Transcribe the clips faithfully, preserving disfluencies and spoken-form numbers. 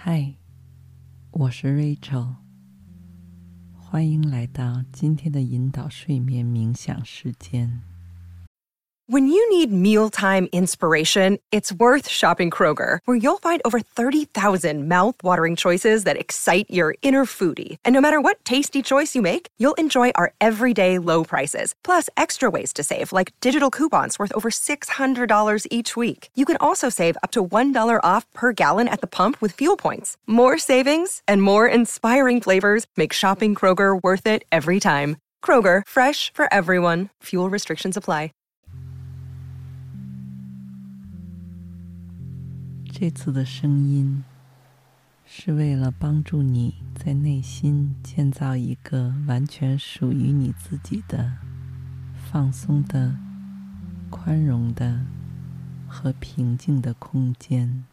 嗨，我是 Rachel， 欢迎来到今天的引导睡眠冥想时间。 When you need mealtime inspiration, it's worth shopping Kroger, where you'll find over thirty thousand mouth-watering choices that excite your inner foodie. And no matter what tasty choice you make, you'll enjoy our everyday low prices, plus extra ways to save, like digital coupons worth over six hundred dollars each week. You can also save up to one dollar off per gallon at the pump with fuel points. More savings and more inspiring flavors make shopping Kroger worth it every time. Kroger, fresh for everyone. Fuel restrictions apply. 这次的声音是为了帮助你在内心建造一个完全属于你自己的放松的、宽容的和平静的空间，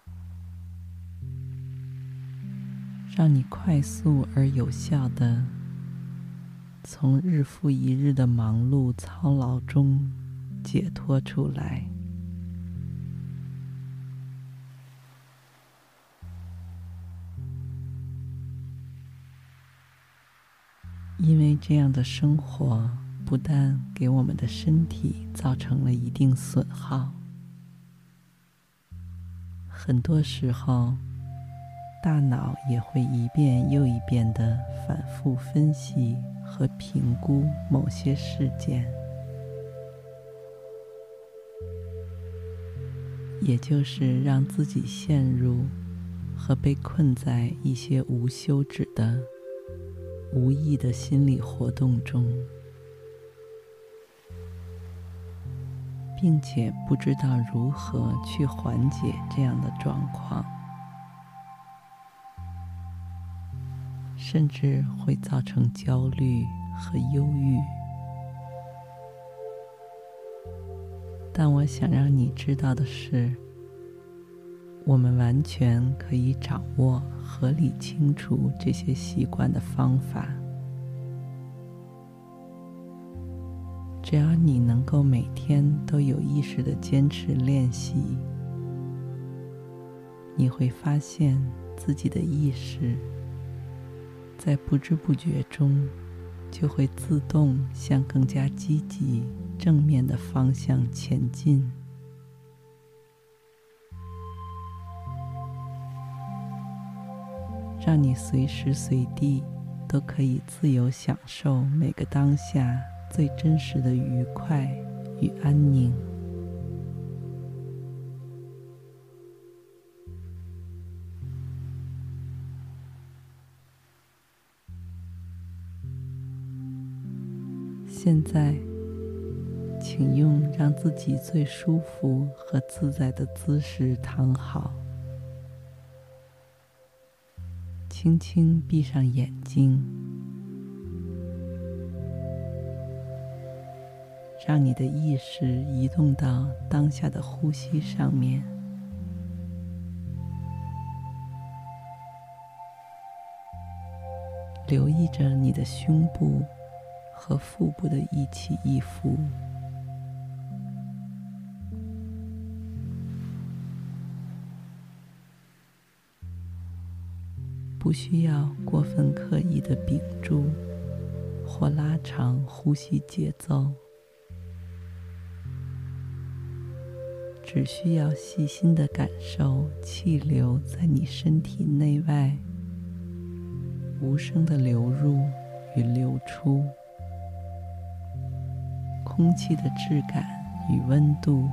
让你快速而有效地从日复一日的忙碌操劳中解脱出来。因为这样的生活不但给我们的身体造成了一定损耗，很多时候大脑也会一遍又一遍地反复分析和评估某些事件，也就是让自己陷入和被困在一些无休止的无意的心理活动中，并且不知道如何去缓解这样的状况，甚至会造成焦虑和忧郁。但我想让你知道的是，我们完全可以掌握合理清除这些习惯的方法。只要你能够每天都有意识地坚持练习，你会发现自己的意识在不知不觉中就会自动向更加积极、正面的方向前进。让你随时随地都可以自由享受每个当下最真实的愉快与安宁。现在，请用让自己最舒服和自在的姿势躺好，轻轻闭上眼睛，让你的意识移动到当下的呼吸上面，留意着你的胸部和腹部的一起一伏。不需要过分刻意的屏住或拉长呼吸节奏，只需要细心地感受气流在你身体内外无声的流入与流出，空气的质感与温度，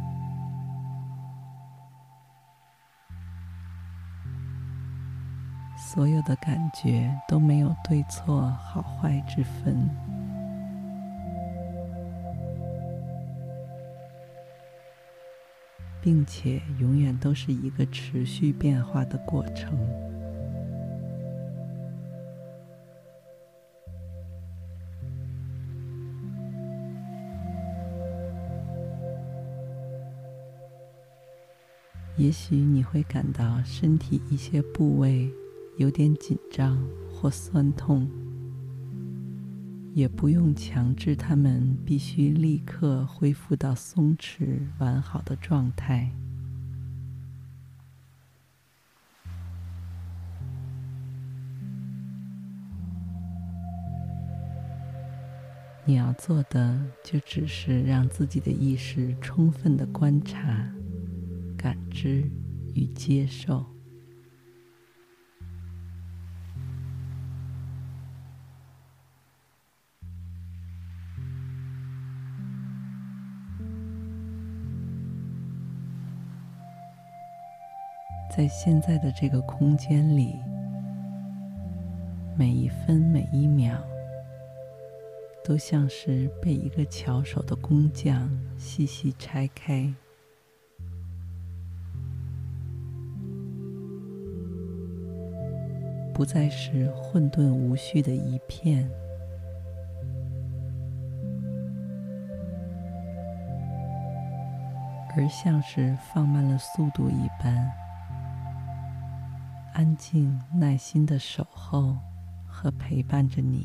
所有的感觉都没有对错好坏之分。并且永远都是一个持续变化的过程。也许你会感到身体一些部位有点紧张或酸痛，也不用强制它们必须立刻恢复到松弛完好的状态。 你要做的就只是让自己的意识充分的观察、感知与接受。在现在的这个空间里，每一分每一秒都像是被一个巧手的工匠细细拆开，不再是混沌无序的一片，而像是放慢了速度一般，安静耐心的守候和陪伴着你。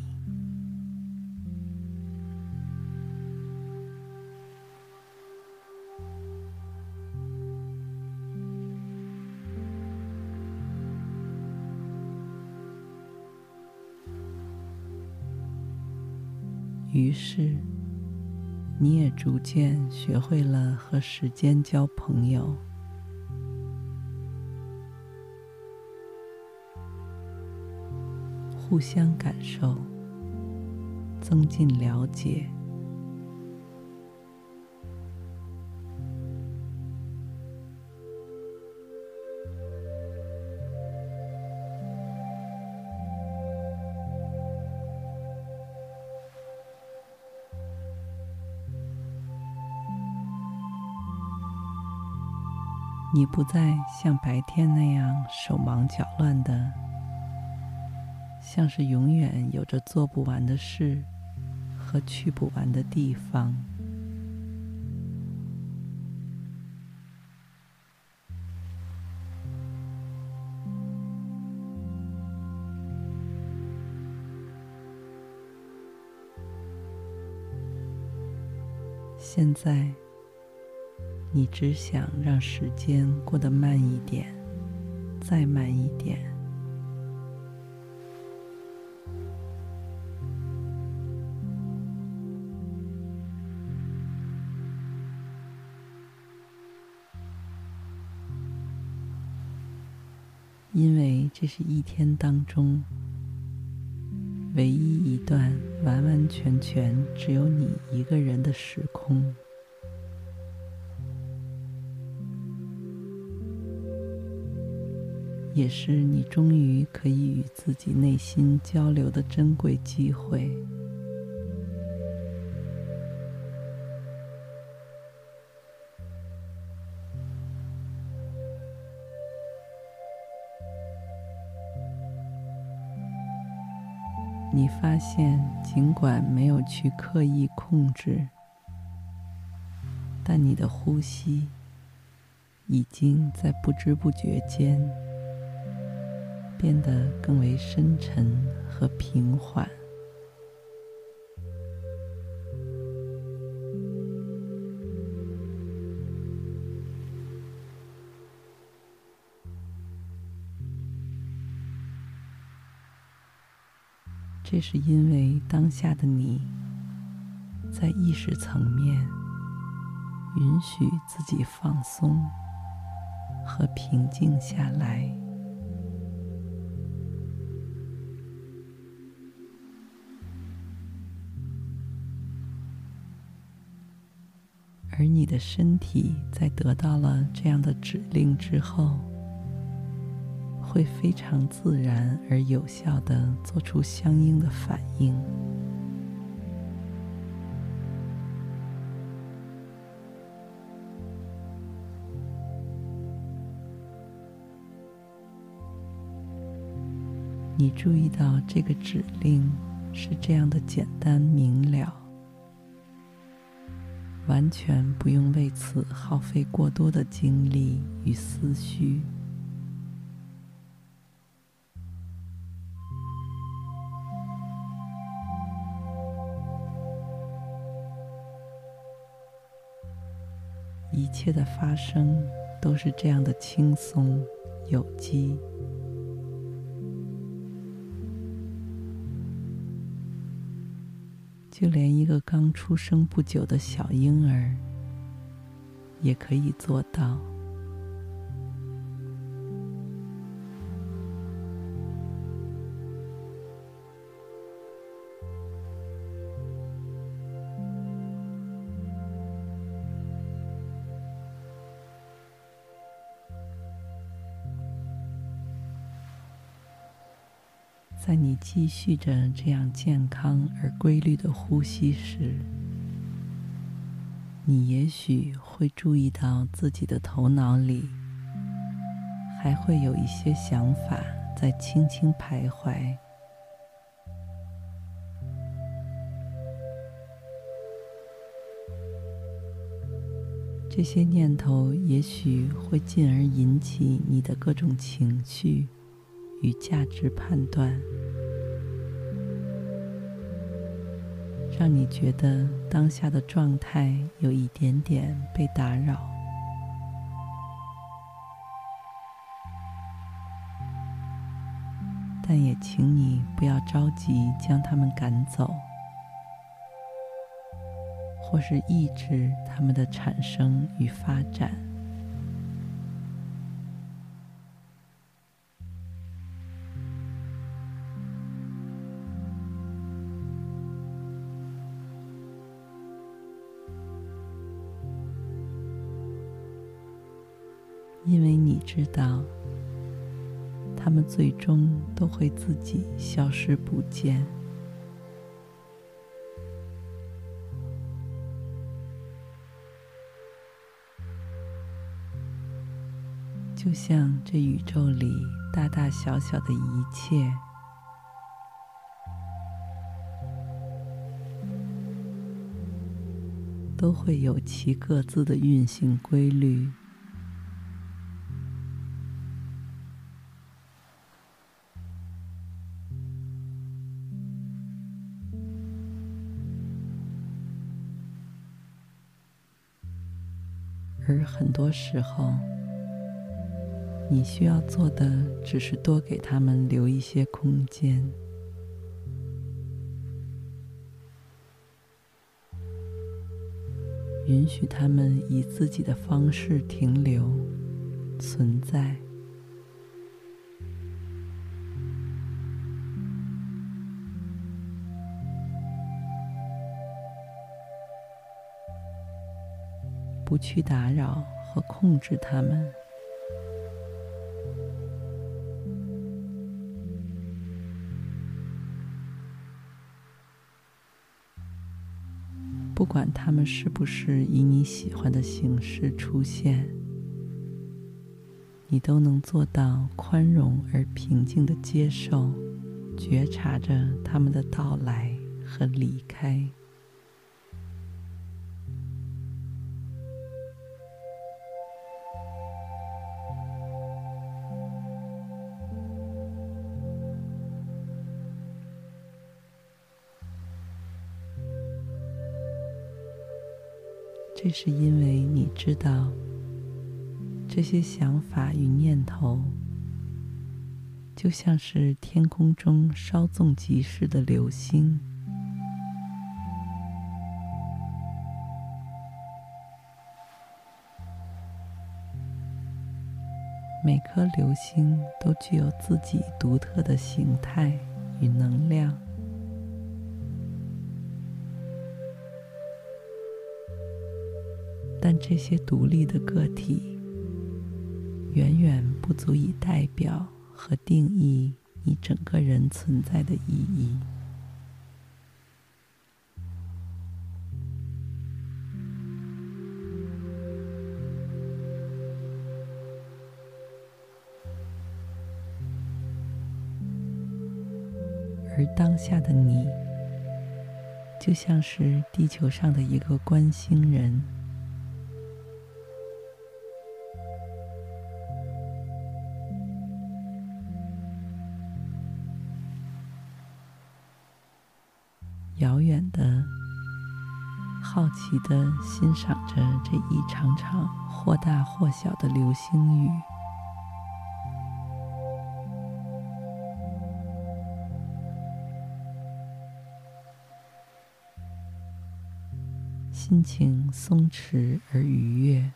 于是，你也逐渐学会了和时间交朋友，互相感受，增进了解。你不再像白天那样手忙脚乱的，像是永远有着做不完的事和去不完的地方。现在，你只想让时间过得慢一点，再慢一点。因为这是一天当中唯一一段完完全全只有你一个人的时空。也是你终于可以与自己内心交流的珍贵机会。你发现，尽管没有去刻意控制，但你的呼吸已经在不知不觉间变得更为深沉和平缓。这是因为当下的你在意识层面允许自己放松和平静下来。而你的身体在得到了这样的指令之后，会非常自然而有效地做出相应的反应。你注意到这个指令是这样的简单明了，完全不用为此耗费过多的精力与思绪。一切的发生都是这样的轻松有机。 就连一个刚出生不久的小婴儿也可以做到。在你继续着这样健康而规律的呼吸时，你也许会注意到自己的头脑里还会有一些想法在轻轻徘徊。这些念头也许会进而引起你的各种情绪与价值判断，让你觉得当下的状态有一点点被打扰。但也请你不要着急将它们赶走，或是抑制它们的产生与发展。因为你知道，它们最终都会自己消失不见。就像这宇宙里大大小小的一切，都会有其各自的运行规律。而很多时候，你需要做的只是多给他们留一些空间，允许他们以自己的方式停留、存在。不去打扰和控制他们。不管他们是不是以你喜欢的形式出现，你都能做到宽容而平静地接受、觉察着他们的到来和离开。这是因为你知道，这些想法与念头就像是天空中稍纵即逝的流星，每颗流星都具有自己独特的形态与能量。但这些独立的个体远远不足以代表和定义你整个人存在的意义。而当下的你，就像是地球上的一个观星人，遥远的、好奇的欣赏着这一场场或大或小的流星雨。 心情松弛而愉悦。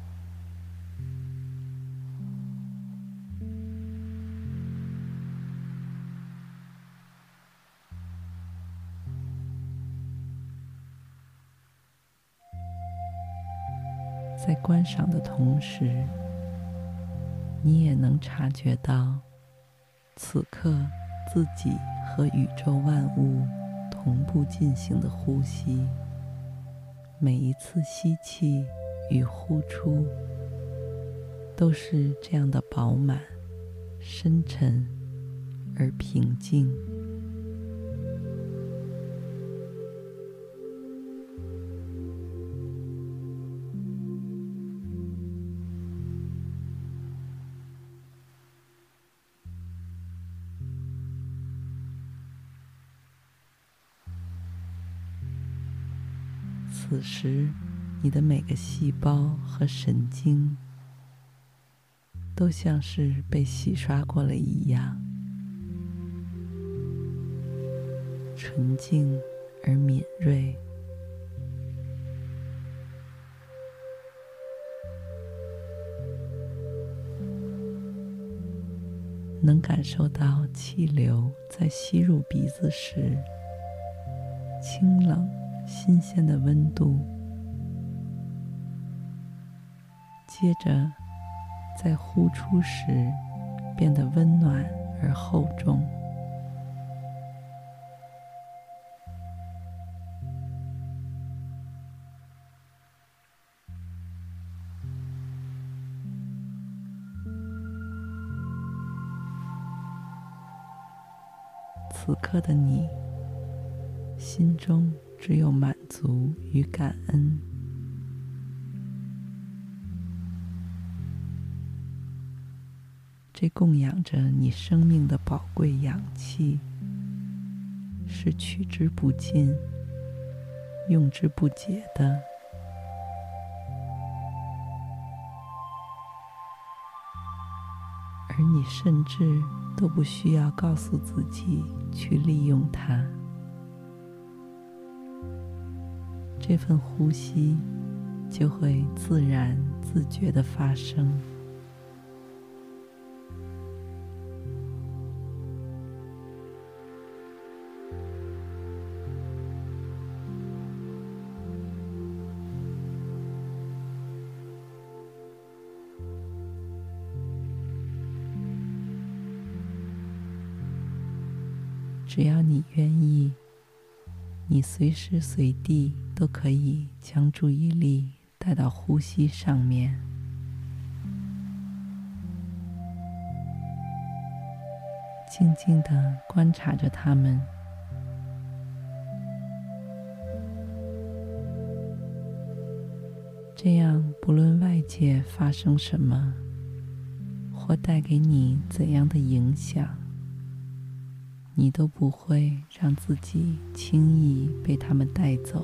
在观赏的同时，你也能察觉到此刻自己和宇宙万物同步进行的呼吸，每一次吸气与呼出都是这样的饱满、深沉而平静。此时，你的每个细胞和神经都像是被洗刷过了一样，纯净而敏锐。能感受到气流在吸入鼻子时，清冷新鲜的温度，接着在呼出时变得温暖而厚重。此刻的你，心中只有满足与感恩。这供养着你生命的宝贵氧气，是取之不尽、用之不竭的。而你甚至都不需要告诉自己去利用它。这份呼吸就会自然自觉地发生。只要你愿意，你随时随地都可以将注意力带到呼吸上面，静静地观察着它们。这样，不论外界发生什么，或带给你怎样的影响，你都不会让自己轻易被他们带走。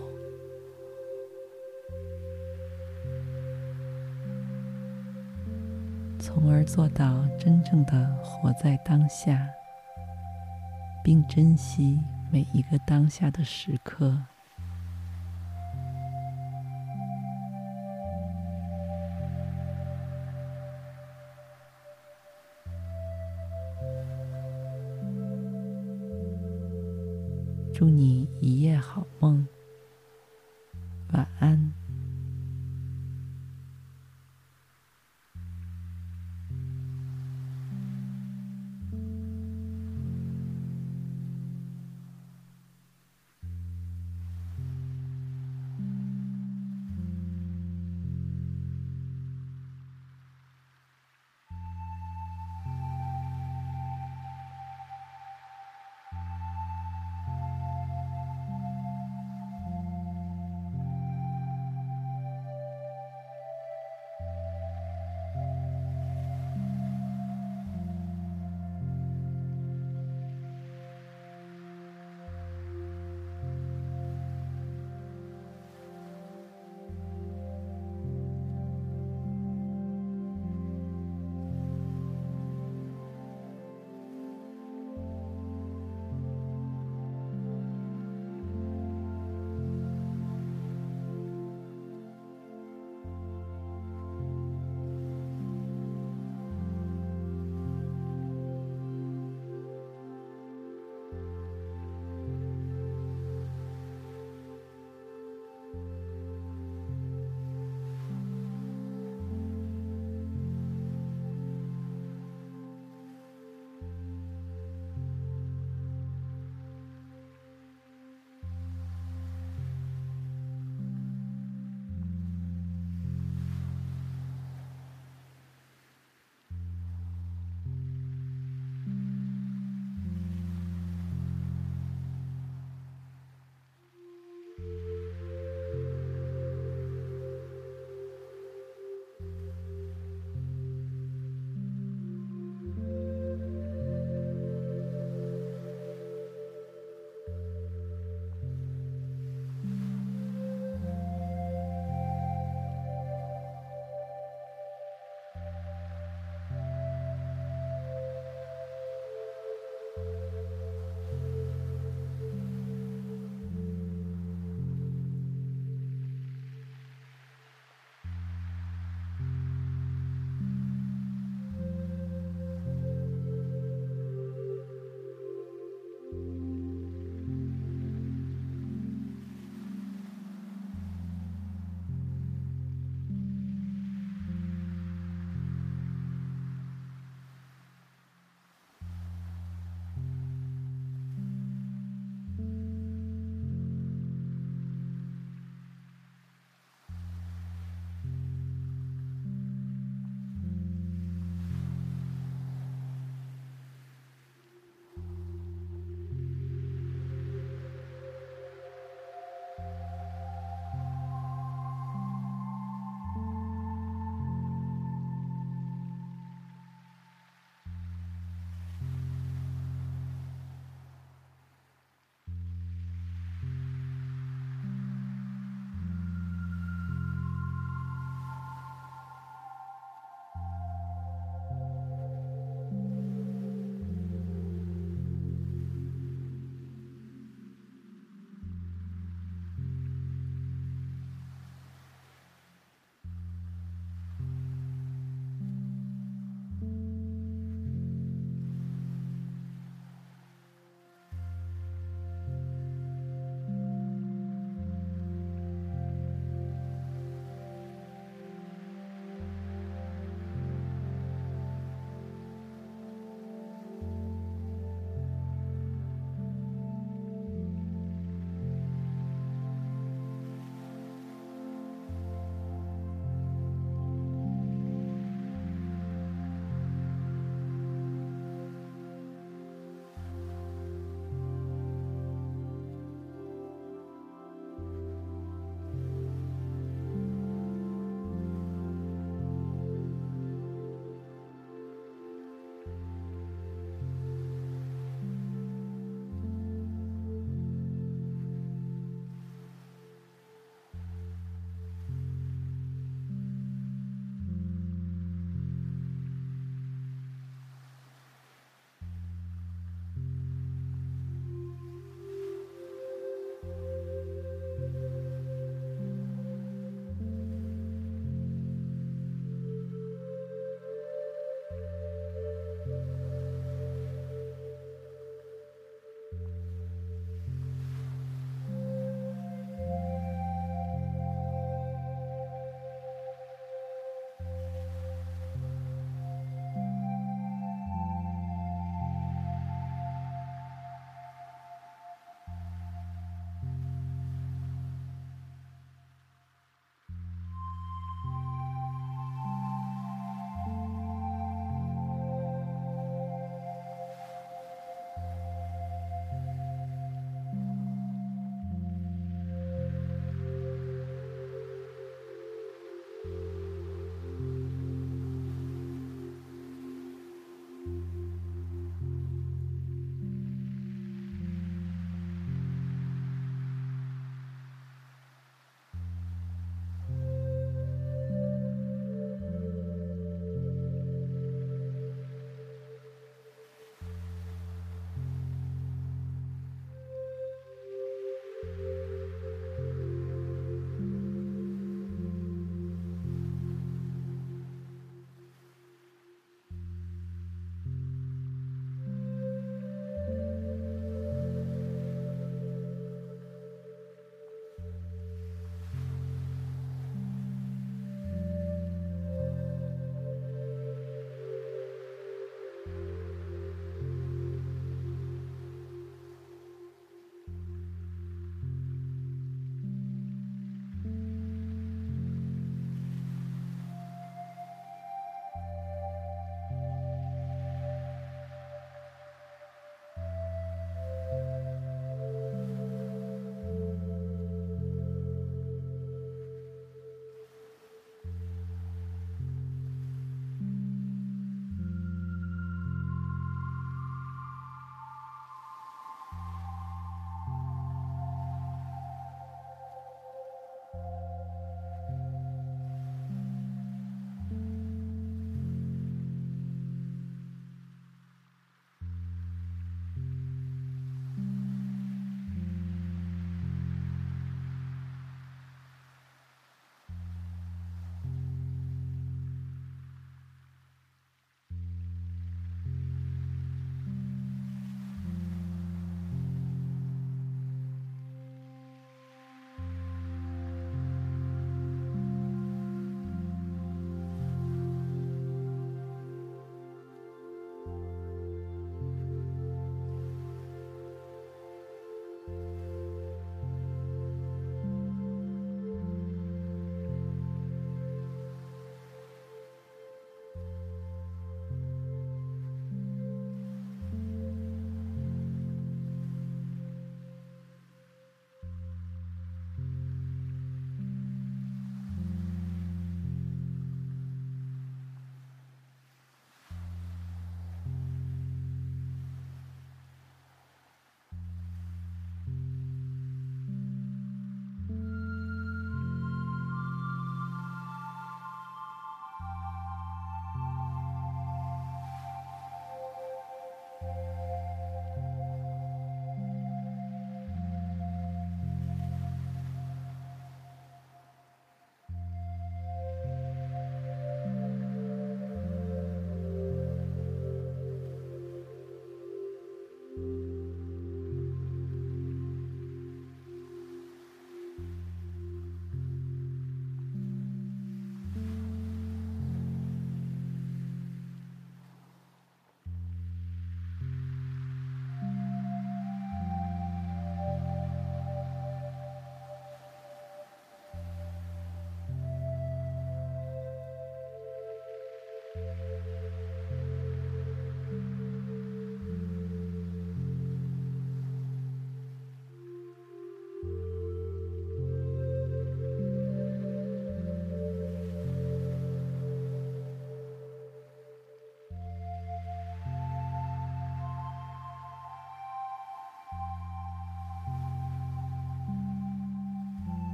从而做到真正的活在当下，并珍惜每一个当下的时刻。祝你一夜好梦，晚安。